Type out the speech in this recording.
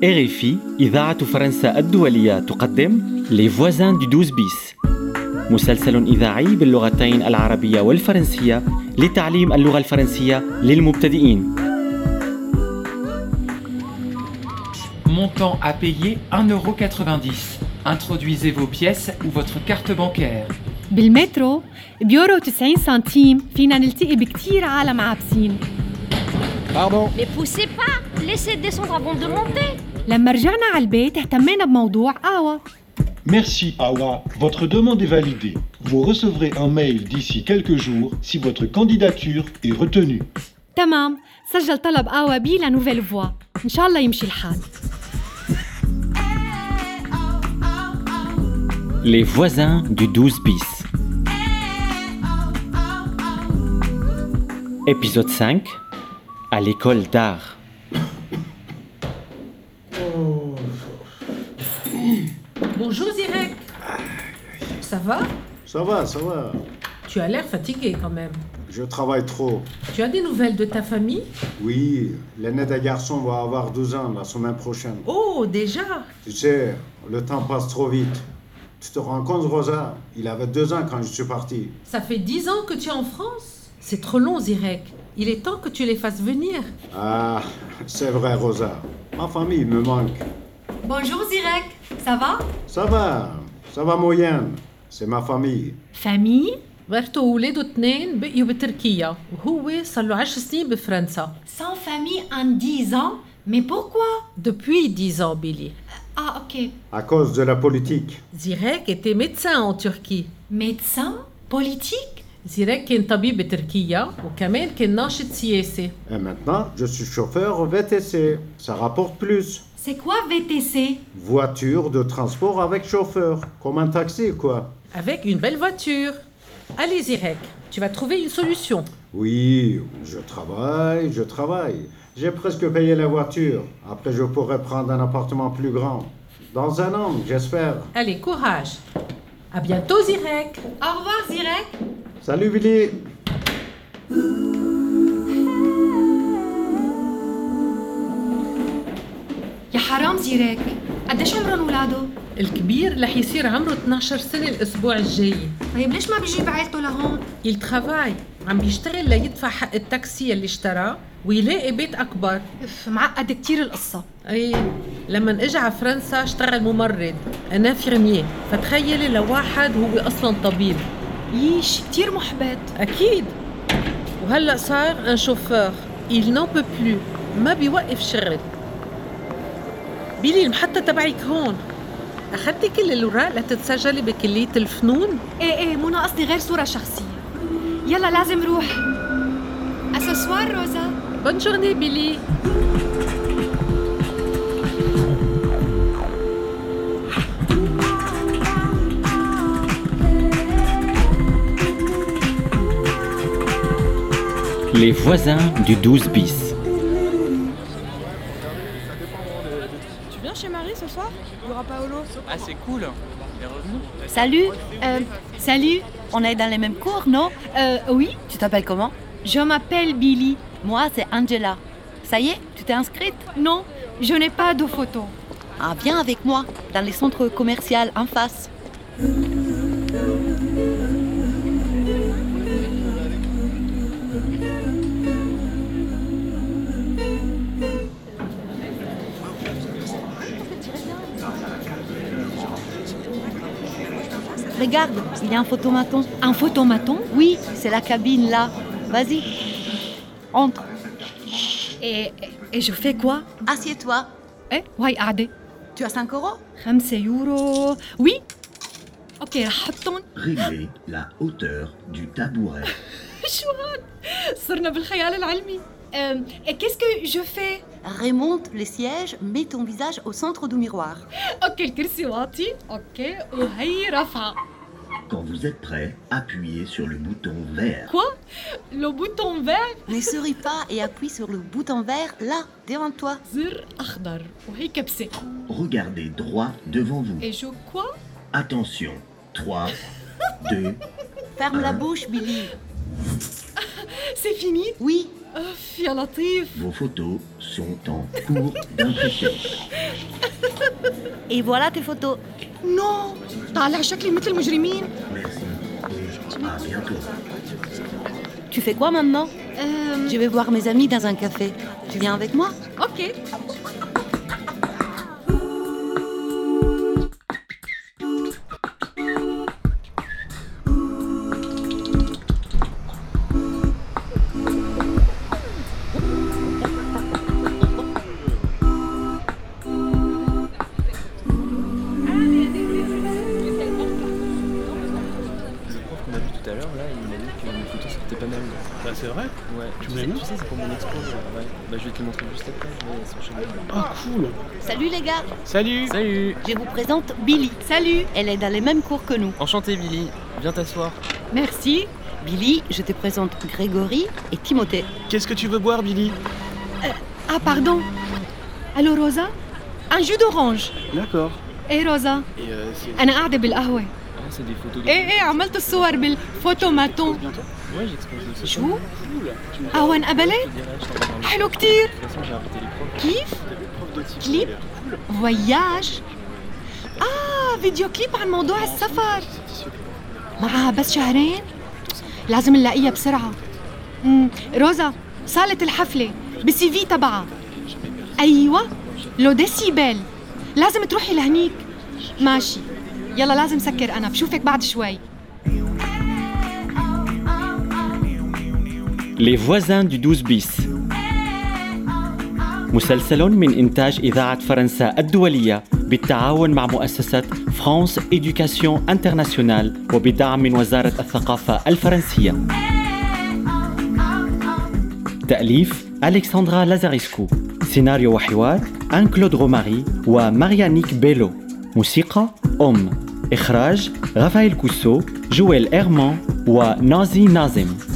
RFI إذاعة فرنسا الدولية تقدم Les voisins du 12 bis مسلسل إذاعي باللغتين العربية والفرنسية لتعليم اللغة الفرنسية للمبتدئين. Montant à payer 1,90€. Introduisez vos pièces ou votre carte bancaire. بالمترو بيورو 90 سنتيم فينا نلتقي بكتير عالم عابسين. Pardon. Mais poussez pas, laissez descendre avant de monter. لما رجعنا على البيت اهتمينا بموضوع قهوة. Merci Awa, votre demande est validée. Vous recevrez un mail d'ici quelques jours si votre candidature est retenue. تمام، سجل طلب قهوة بي لنوفيل فوا. إن شاء الله يمشي الحال. Les voisins du 12 bis. Épisode 5. À l'école d'art. Bonjour Zirek. Ça va? Ça va. Tu as l'air fatigué quand même. Je travaille trop. Tu as des nouvelles de ta famille? Oui, l'aîné des garçons va avoir 12 ans la semaine prochaine. Oh, déjà? Tu sais, le temps passe trop vite. Tu te rends compte, Rosa? Il avait 2 ans quand je suis parti. Ça fait 10 ans que tu es en France? C'est trop long, Zirek. Il est temps que tu les fasses venir. Ah, c'est vrai, Rosa. Ma famille me manque. Bonjour Zirek, ça va? Ça va moyenne. C'est ma famille. famille. مرته وولاده 2 بقيوا بتركيا وهو صار له 10 سنين بفرنسا. Sans famille en 10 ans? Mais pourquoi? Depuis 10 ans, Billy. Ah, ok. À cause de la politique. Zirek était médecin en Turquie. Médecin? Politique? زيريك كان طبيب بتركيا وكمان كان ناشط سياسي. Et maintenant, je suis chauffeur VTC. Ça rapporte plus. C'est quoi VTC? Voiture de transport avec chauffeur. Comme un taxi, quoi. Avec une belle voiture. Allez Zirek, tu vas trouver une solution. Oui, je travaille. J'ai presque payé la voiture. Après, je pourrais prendre un appartement plus grand. Dans un an, j'espère. Allez, courage. À bientôt Zirek. Au revoir Zirek. Salut, Billy. يا حرام زيرك، قديش عمرهم ولاده؟ الكبير رح يصير عمره 12 سنة الأسبوع الجاي. طيب ليش ما بيجيب عيلته لهون؟ Il travaille. عم بيشتغل ليدفع حق التاكسي اللي اشتراه ويلاقي بيت أكبر. معقد كتير القصة. أي لما اجى على فرنسا اشتغل ممرض انفيرميي، فتخيلي لواحد هو أصلا طبيب. ييش كتير محبط. أكيد. وهلأ صار ان شوفور. Il n'en peut plus. ما بيوقف شغل. بيلي المحطة تبعك هون. أخذتي كل الأوراق لتتسجلي بكلية الفنون؟ ايه مو ناقصني غير صورة شخصية. يلا لازم روح. أسوسوار روزا. Bonne journée Billy. Les voisins du 12 bis. Tu viens chez Marie ce soir? Il y aura Paolo. Ah, c'est cool. Elle est revenue. Salut. Salut. On est dans les mêmes cours, non? Oui. Tu t'appelles comment? Je m'appelle Billy. Moi, c'est Angela. Ça y est, tu t'es inscrite? Non, je n'ai pas de photo. Ah, viens avec moi, dans les centres commerciaux en face. Regarde, il y a un photomaton. Un photomaton? Oui, c'est la cabine là. Vas-y, entre. Et je fais quoi? Assieds-toi. وهي قاعدة. Tu as 5 euros? 5 يورو. Oui. Ok, رح حطهم. Réglez la hauteur du tabouret. شو هاد؟ صرنا بالخيال العلمي. Et qu'est-ce que je fais? Remonte les sièges, mets ton visage au centre du miroir. Ok, الكرسي واطي. Ok, وهي رفع. Quand vous êtes prêt, appuyez sur le bouton vert. Quoi? Le bouton vert? Ne souris pas et appuie sur le bouton vert là, devant toi. زر أخضر وهي كبسة. Regardez droit devant vous. Et je quoi? Attention. 3, 2, Ferme la bouche, Billy. C'est fini? Oui. أوف يا لطيف. Vos photos sont en cours d'impression. Et voilà tes photos. نو طالع شكلي مثل المجرمين. Merci et à bientôt. Tu fais quoi maintenant? Je vais voir mes amis dans un café. Tu viens avec moi? اوكي. Qu'on a vu tout à l'heure, là, il m'a dit que mes photos c'était pas mal. Bah c'est vrai. Ouais, Tu me l'as mis? Tu sais, c'est pour mon expo. Ouais. Bah, je vais te le montrer juste après. Ouais, sur chez moi. Ah cool. Salut les gars. Salut. Salut. Je vous présente Billy. Salut. Elle est dans les mêmes cours que nous. Enchanté, Billy. Viens t'asseoir. Merci. Billy, je te présente Grégory et Timothée. Qu'est-ce que tu veux boire, Billy? Ah pardon. Allô روزا؟ un jus d'orange. D'accord. ايه روزا؟ Et c'est... أنا قاعدة بالقهوة. Ah, c'est des photos de... ايه عملت الصور بالفوتوماتون. Ouais, j'expose aussi. شو؟ Cool. Tu me قهوة انقبلت؟ Je te dirai, je t'envoie dans le... حلو كتير. De toute façon, j'ai invité les profs. كيف؟ prof de type. كليب؟ فواياج؟ فيديو كليب عن موضوع السفر. معها بس شهرين؟ لازم نلاقيها بسرعة. روزا، صالة الحفلة بالسي في تبعها. أيوة، لو ديسيبل. لازم تروحي لهنيك. ماشي، يلا لازم سكر أنا، بشوفك بعد شوي. Les voisins du 12 bis. مسلسل من إنتاج إذاعة فرنسا الدولية بالتعاون مع مؤسسة فرانس إدوكاسيون انترناسيونال وبدعم من وزارة الثقافة الفرنسية. تأليف ألكسندرا لازاريسكو. سيناريو وحوار أن كلود روماري وماريانيك بيلو. موسيقى إخراج رافائيل كوسو، جويل إيرمان ونازي نازم.